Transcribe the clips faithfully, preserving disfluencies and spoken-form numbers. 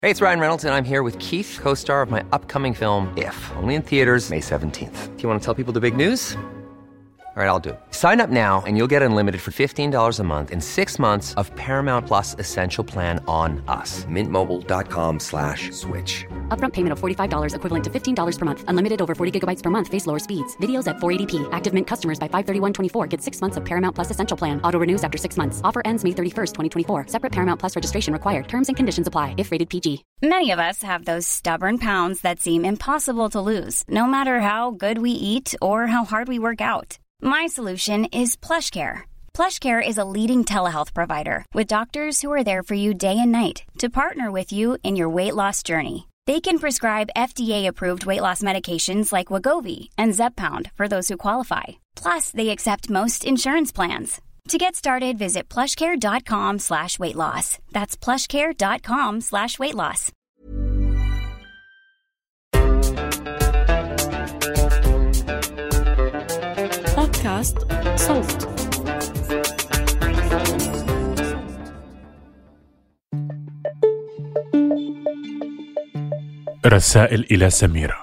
Hey, it's Ryan Reynolds, and I'm here with Keith, co-star of my upcoming film, If, only in theaters May seventeenth. Do you want to tell people the big news? All right, I'll do it. Sign up now and you'll get unlimited for fifteen dollars a month and six months of Paramount Plus Essential Plan on us. Mint Mobile dot com slash switch. Upfront payment of forty-five dollars equivalent to fifteen dollars per month. Unlimited over forty gigabytes per month. Face lower speeds. Videos at four eighty p. Active Mint customers by five thirty-one twenty-four get six months of Paramount Plus Essential Plan. Auto renews after six months. Offer ends May thirty-first, twenty twenty-four. Separate Paramount Plus registration required. Terms and conditions apply if rated P G. Many of us have those stubborn pounds that seem impossible to lose, no matter how good we eat or how hard we work out. My solution is PlushCare. PlushCare is a leading telehealth provider with doctors who are there for you day and night to partner with you in your weight loss journey. They can prescribe F D A-approved weight loss medications like Wegovy and Zepbound for those who qualify. Plus, they accept most insurance plans. To get started, visit plushcare.com slash weight loss. That's plushcare.com slash weight loss. بودكاست صوت. رسائل إلى سميرة.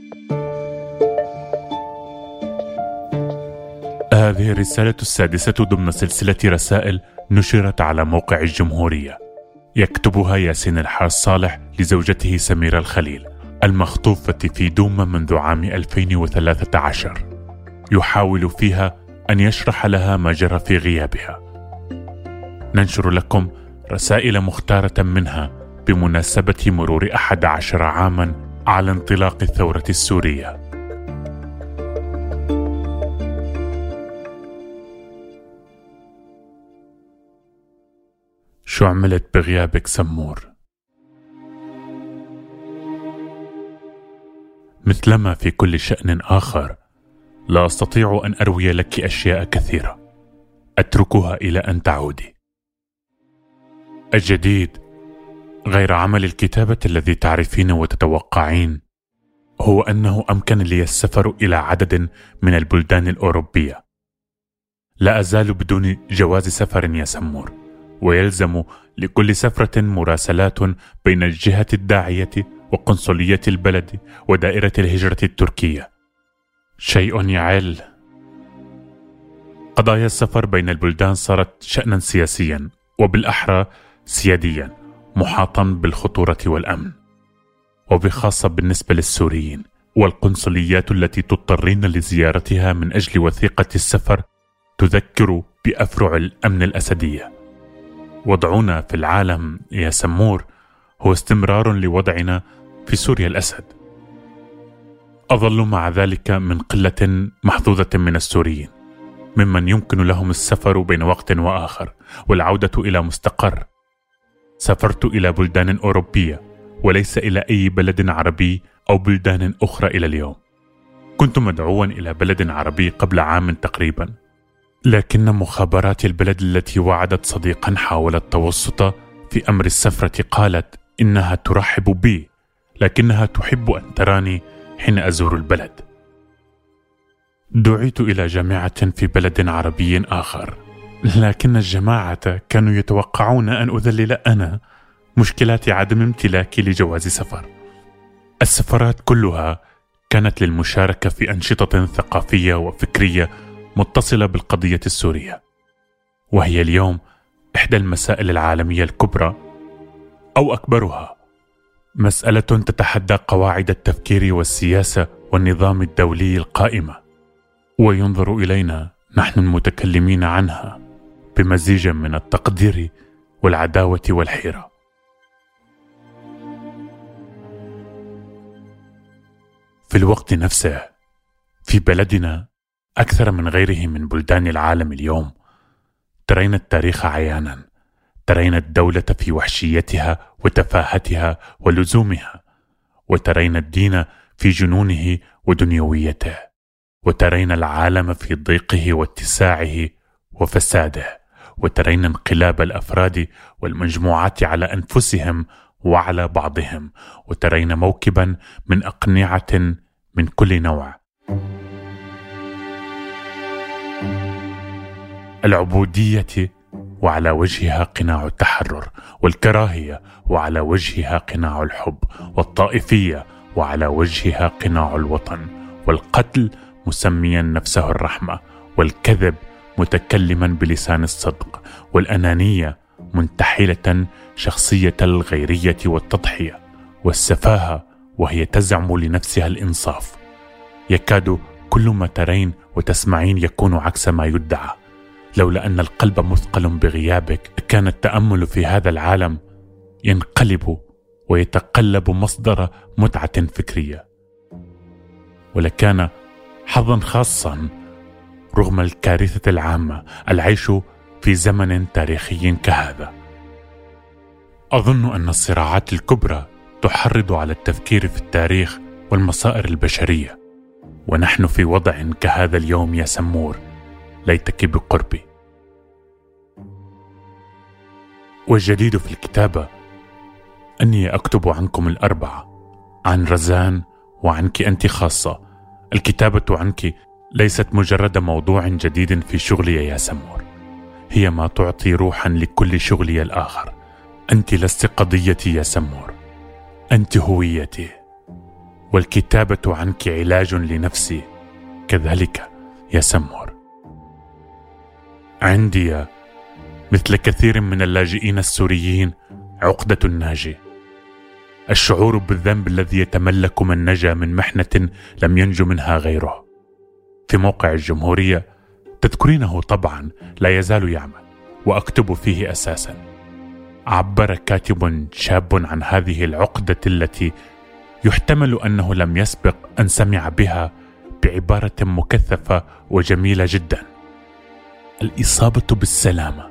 هذه الرسالة السادسة ضمن سلسلة رسائل نشرت على موقع الجمهورية، يكتبها ياسين الحاج صالح لزوجته سميرة الخليل المخطوفة في دوما منذ عام ألفين وثلاثة عشر، يحاول فيها أن يشرح لها ما جرى في غيابها. ننشر لكم رسائل مختارة منها بمناسبة مرور أحد عشر عاما على انطلاق الثورة السورية. شو عملت بغيابك سمور؟ مثلما في كل شأن آخر، لا أستطيع أن أروي لك أشياء كثيرة، أتركها إلى أن تعودي. الجديد غير عمل الكتابة الذي تعرفين وتتوقعين هو أنه أمكن لي السفر إلى عدد من البلدان الأوروبية. لا أزال بدون جواز سفر يا سمور، ويلزم لكل سفرة مراسلات بين الجهة الداعية وقنصلية البلد ودائرة الهجرة التركية. شيء يعل. قضايا السفر بين البلدان صارت شأنا سياسيا، وبالأحرى سياديا، محاطا بالخطورة والأمن، وبخاصة بالنسبة للسوريين، والقنصليات التي تضطرين لزيارتها من أجل وثيقة السفر تذكر بأفرع الأمن الأسدية. وضعنا في العالم يا سمور هو استمرار لوضعنا في سوريا الأسد. أظل مع ذلك من قلة محظوظة من السوريين ممن يمكن لهم السفر بين وقت وآخر والعودة إلى مستقر. سافرت إلى بلدان أوروبية وليس إلى أي بلد عربي أو بلدان أخرى إلى اليوم. كنت مدعوا إلى بلد عربي قبل عام تقريبا، لكن مخابرات البلد التي وعدت صديقا حاول التوسط في أمر السفرة قالت إنها ترحب بي، لكنها تحب أن تراني حين أزور البلد. دعيت إلى جامعة في بلد عربي آخر، لكن الجماعة كانوا يتوقعون أن أذلل أنا مشكلات عدم امتلاكي لجواز سفر. السفرات كلها كانت للمشاركة في أنشطة ثقافية وفكرية متصلة بالقضية السورية، وهي اليوم إحدى المسائل العالمية الكبرى أو أكبرها، مسألة تتحدى قواعد التفكير والسياسة والنظام الدولي القائمة، وينظر إلينا نحن المتكلمين عنها بمزيج من التقدير والعداوة والحيرة. في الوقت نفسه في بلدنا أكثر من غيره من بلدان العالم اليوم ترين التاريخ عيانا، ترين الدولة في وحشيتها وتفاهتها ولزومها، وترين الدين في جنونه ودنيويته، وترين العالم في ضيقه واتساعه وفساده، وترين انقلاب الأفراد والمجموعات على أنفسهم وعلى بعضهم، وترين موكبا من أقنعة من كل نوع. العبودية وعلى وجهها قناع التحرر، والكراهية وعلى وجهها قناع الحب، والطائفية وعلى وجهها قناع الوطن، والقتل مسميا نفسه الرحمة، والكذب متكلما بلسان الصدق، والأنانية منتحلة شخصية الغيرية والتضحية، والسفاهة وهي تزعم لنفسها الإنصاف. يكاد كل ما ترين وتسمعين يكون عكس ما يدعى. لولا أن القلب مثقل بغيابك كان التأمل في هذا العالم ينقلب ويتقلب مصدر متعة فكرية، ولكان حظا خاصا رغم الكارثة العامة العيش في زمن تاريخي كهذا. أظن أن الصراعات الكبرى تحرض على التفكير في التاريخ والمصائر البشرية، ونحن في وضع كهذا اليوم يا سمور، ليتك بقربي. والجديد في الكتابة أني أكتب عنكم الأربعة، عن رزان وعنك أنت خاصة. الكتابة عنك ليست مجرد موضوع جديد في شغلي يا سمور، هي ما تعطي روحا لكل شغلي الآخر. أنت لست قضيتي يا سمور، أنت هويتي، والكتابة عنك علاج لنفسي كذلك يا سمور. عندي مثل كثير من اللاجئين السوريين عقدة الناجي، الشعور بالذنب الذي يتملك من نجا من محنة لم ينج منها غيره. في موقع الجمهورية تذكرينه طبعا لا يزال يعمل، وأكتب فيه أساسا. عبر كاتب شاب عن هذه العقدة التي يحتمل أنه لم يسبق أن سمع بها بعبارة مكثفة وجميلة جدا: الإصابة بالسلامة.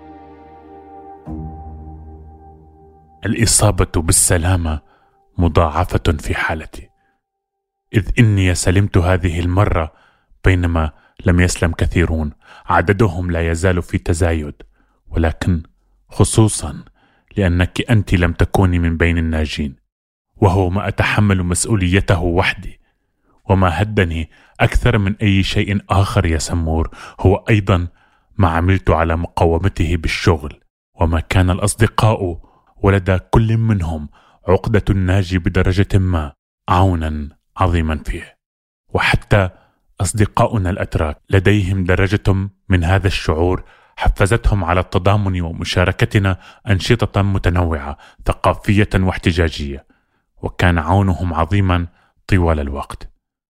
الإصابة بالسلامة مضاعفة في حالتي، إذ إني سلمت هذه المرة بينما لم يسلم كثيرون، عددهم لا يزال في تزايد، ولكن خصوصا لأنك أنت لم تكوني من بين الناجين، وهو ما أتحمل مسؤوليته وحدي. وما هدني أكثر من أي شيء آخر يا سمور هو أيضا ما عملت على مقاومته بالشغل، وما كان الأصدقاء ولدى كل منهم عقدة الناجي بدرجة ما عونا عظيما فيه. وحتى أصدقاؤنا الأتراك لديهم درجة من هذا الشعور حفزتهم على التضامن ومشاركتنا أنشطة متنوعة ثقافية واحتجاجية، وكان عونهم عظيما طوال الوقت.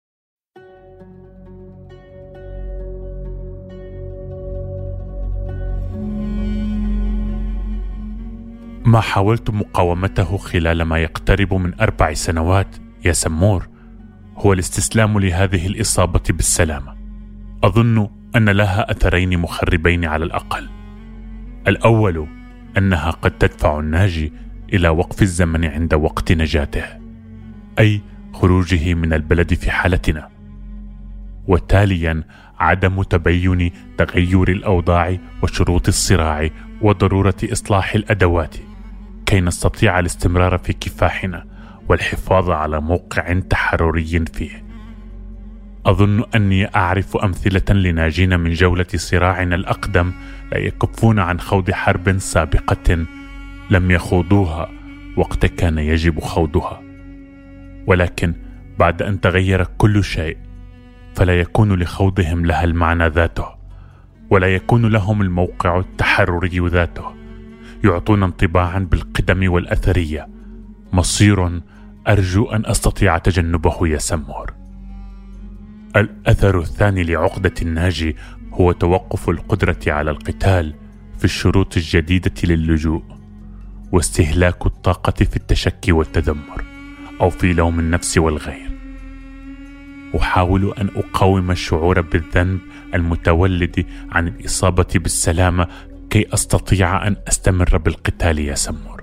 ما حاولت مقاومته خلال ما يقترب من أربع سنوات يا سمور هو الاستسلام لهذه الإصابة بالسلامة. أظن أن لها أثرين مخربين على الأقل. الأول أنها قد تدفع الناجي إلى وقف الزمن عند وقت نجاته، أي خروجه من البلد في حالتنا، وتاليا عدم تبين تغير الأوضاع وشروط الصراع وضرورة إصلاح الأدوات كي نستطيع الاستمرار في كفاحنا والحفاظ على موقع تحرري فيه. أظن أني أعرف أمثلة لناجين من جولة صراعنا الأقدم لا يكفون عن خوض حرب سابقة لم يخوضوها وقت كان يجب خوضها، ولكن بعد أن تغير كل شيء فلا يكون لخوضهم لها المعنى ذاته، ولا يكون لهم الموقع التحرري ذاته. يعطون انطباعا بالقدم والأثرية، مصير أرجو أن أستطيع تجنبه يا سمور. الأثر الثاني لعقدة الناجي هو توقف القدرة على القتال في الشروط الجديدة للجوء، واستهلاك الطاقة في التشكي والتذمر أو في لوم النفس والغير. أحاول أن أقاوم الشعور بالذنب المتولد عن الإصابة بالسلامة كي أستطيع أن أستمر بالقتال يا سمور.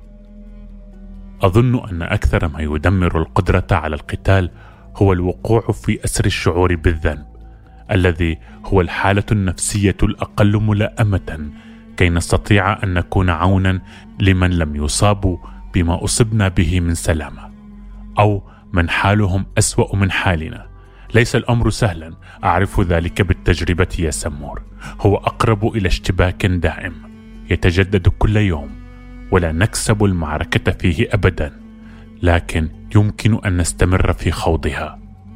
أظن أن أكثر ما يدمر القدرة على القتال هو الوقوع في أسر الشعور بالذنب، الذي هو الحالة النفسية الأقل ملائمة كي نستطيع أن نكون عونا لمن لم يصابوا بما أصبنا به من سلامة، أو من حالهم أسوأ من حالنا. ليس الأمر سهلا، أعرف ذلك بالتجربة يا سمور، هو أقرب إلى اشتباك دائم، يتجدد كل يوم ولا نكسب المعركة فيه أبدا، لكن يمكن أن نستمر في خوضها.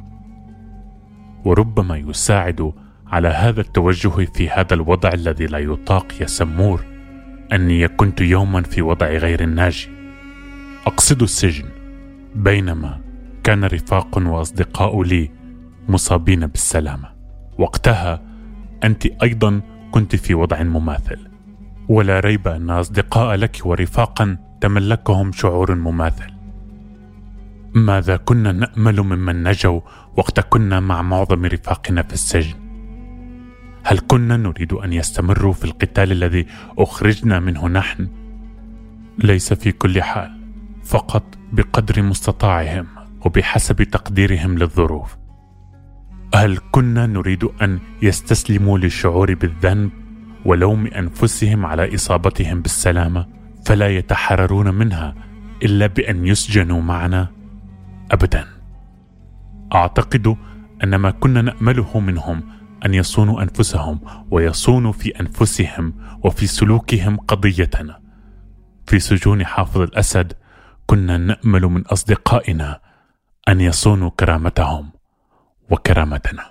وربما يساعد على هذا التوجه في هذا الوضع الذي لا يطاق يا سمور أني كنت يوما في وضع غير الناجي، أقصد السجن، بينما كان رفاق وأصدقاء لي مصابين بالسلامة. وقتها أنت أيضا كنت في وضع مماثل، ولا ريب أن أصدقاء لك ورفاقا تملكهم شعور مماثل. ماذا كنا نأمل ممن نجوا وقت كنا مع معظم رفاقنا في السجن؟ هل كنا نريد أن يستمروا في القتال الذي أخرجنا منه نحن؟ ليس في كل حال، فقط بقدر مستطاعهم وبحسب تقديرهم للظروف. هل كنا نريد أن يستسلموا للشعور بالذنب ولوم أنفسهم على إصابتهم بالسلامة فلا يتحررون منها إلا بأن يسجنوا معنا؟ أبدا. أعتقد أن ما كنا نأمله منهم أن يصونوا أنفسهم ويصونوا في أنفسهم وفي سلوكهم قضيتنا. في سجون حافظ الأسد كنا نأمل من أصدقائنا أن يصونوا كرامتهم وكرامتنا.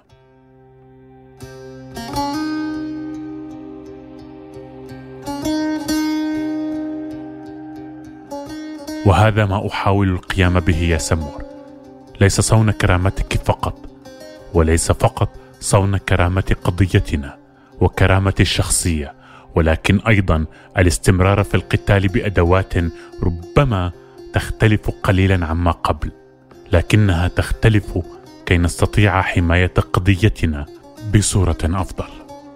وهذا ما أحاول القيام به يا سمور، ليس صون كرامتك فقط، وليس فقط صون كرامة قضيتنا وكرامة الشخصية، ولكن أيضا الاستمرار في القتال بأدوات ربما تختلف قليلا عما قبل، لكنها تختلف كي نستطيع حماية قضيتنا بصورة أفضل.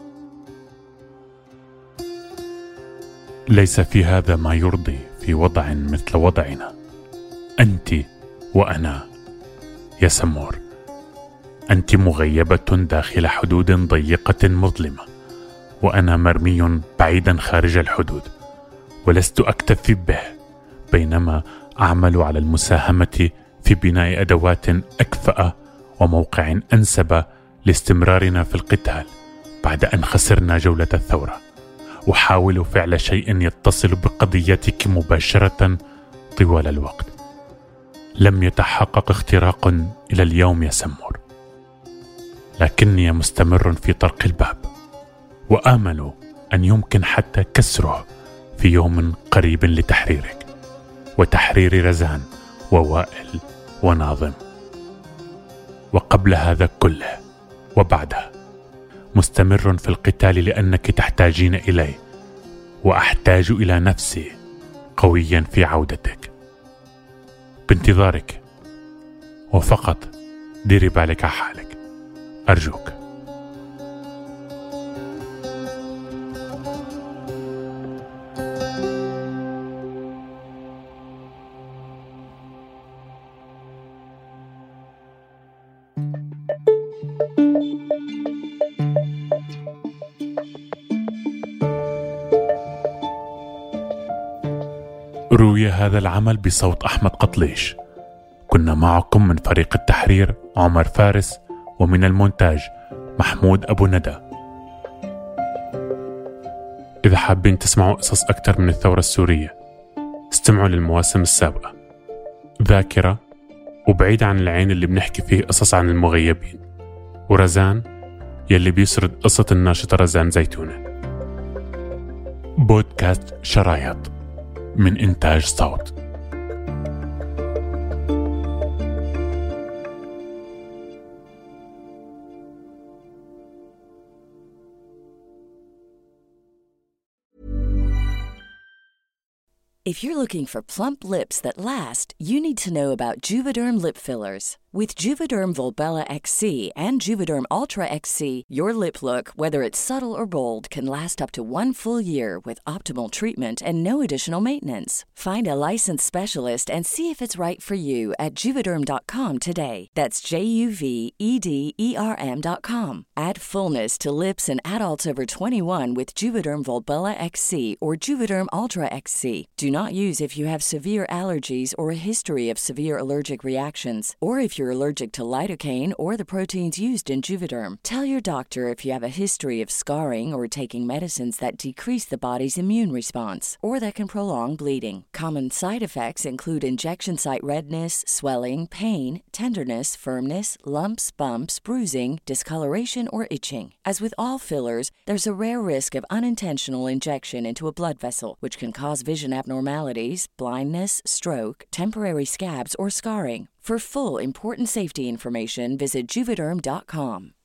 ليس في هذا ما يرضي في وضع مثل وضعنا، أنت وأنا يا سمور. أنت مغيبة داخل حدود ضيقة مظلمة، وأنا مرمي بعيدا خارج الحدود، ولست أكتفي به، بينما أعمل على المساهمة في بناء أدوات أكفأ وموقع أنسب لاستمرارنا في القتال بعد أن خسرنا جولة الثورة. أحاول فعل شيء يتصل بقضيتك مباشرة طوال الوقت. لم يتحقق اختراق إلى اليوم يا سمور، لكني مستمر في طرق الباب، وآمل أن يمكن حتى كسره في يوم قريب لتحريرك وتحرير رزان ووائل وناظم. وقبل هذا كله وبعده مستمر في القتال لأنك تحتاجين إلي، وأحتاج إلى نفسي قويا في عودتك. بانتظارك، وفقط ديري بالك على حالك أرجوك. روي هذا العمل بصوت أحمد قطليش. كنا معكم من فريق التحرير عمر فارس، ومن المونتاج محمود أبو ندى. إذا حابين تسمعوا قصص أكثر من الثورة السورية، استمعوا للمواسم السابقة، ذاكرة، وبعيد عن العين اللي بنحكي فيه قصص عن المغيبين، ورزان يلي بيسرد قصة الناشطة رزان زيتونة. بودكاست شرايط من إنتاج صوت. If you're looking for plump lips that last, you need to know about Juvederm lip fillers. With Juvederm Volbella X C and Juvederm Ultra X C, your lip look, whether it's subtle or bold, can last up to one full year with optimal treatment and no additional maintenance. Find a licensed specialist and see if it's right for you at Juvederm dot com today. That's J U V E D E R M dot com. Add fullness to lips in adults over twenty-one with Juvederm Volbella X C or Juvederm Ultra X C. Do not use if you have severe allergies or a history of severe allergic reactions, or if you're you're allergic to lidocaine or the proteins used in Juvederm. Tell your doctor if you have a history of scarring or taking medicines that decrease the body's immune response or that can prolong bleeding. Common side effects include injection site redness, swelling, pain, tenderness, firmness, lumps, bumps, bruising, discoloration, or itching. As with all fillers, there's a rare risk of unintentional injection into a blood vessel, which can cause vision abnormalities, blindness, stroke, temporary scabs, or scarring. For full, important safety information, visit Juvederm dot com.